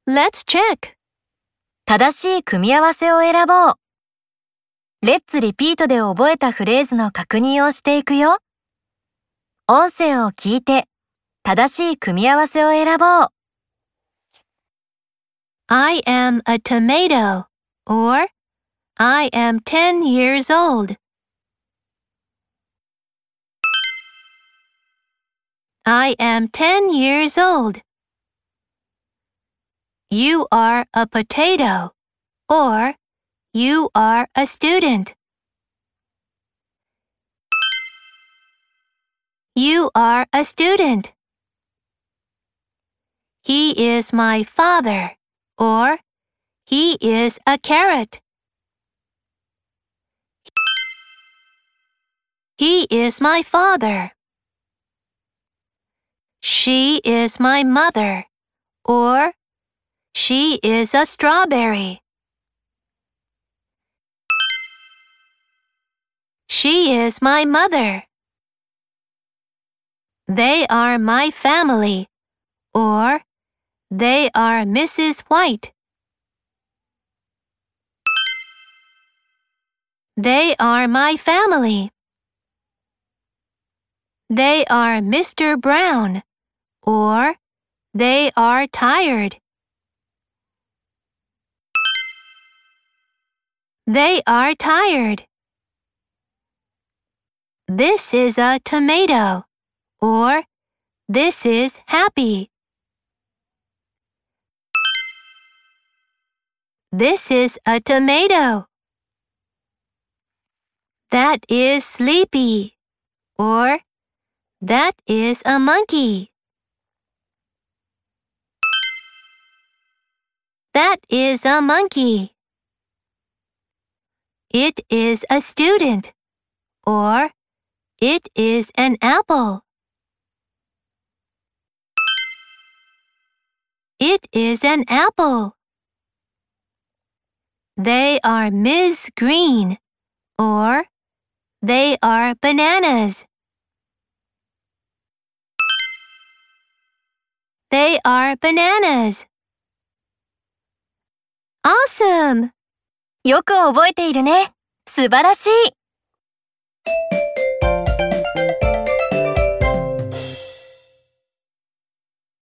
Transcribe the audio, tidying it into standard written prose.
Let's check. 正しい組み合わせを選ぼう。Let's repeat で覚えたフレーズの確認をしていくよ。音声を聞いて、正しい組み合わせを選ぼう。 I am a tomato, or I am 10 years old. I am 10 years old. You are a potato, or you are a student. You are a student. He is my father, or he is a carrot. He is my father. She is my mother, or she is a strawberry. She is my mother. They are my family, or they are Mrs. White. They are my family. They are Mr. Brown, or they are tired. They are tired. This is a tomato, or this is happy. This is a tomato. That is sleepy, or that is a monkey. That is a monkey. It is a student, or it is an apple. It is an apple. They are Ms. Green, or they are bananas. They are bananas. Awesome! よく覚えているね。素晴らしい。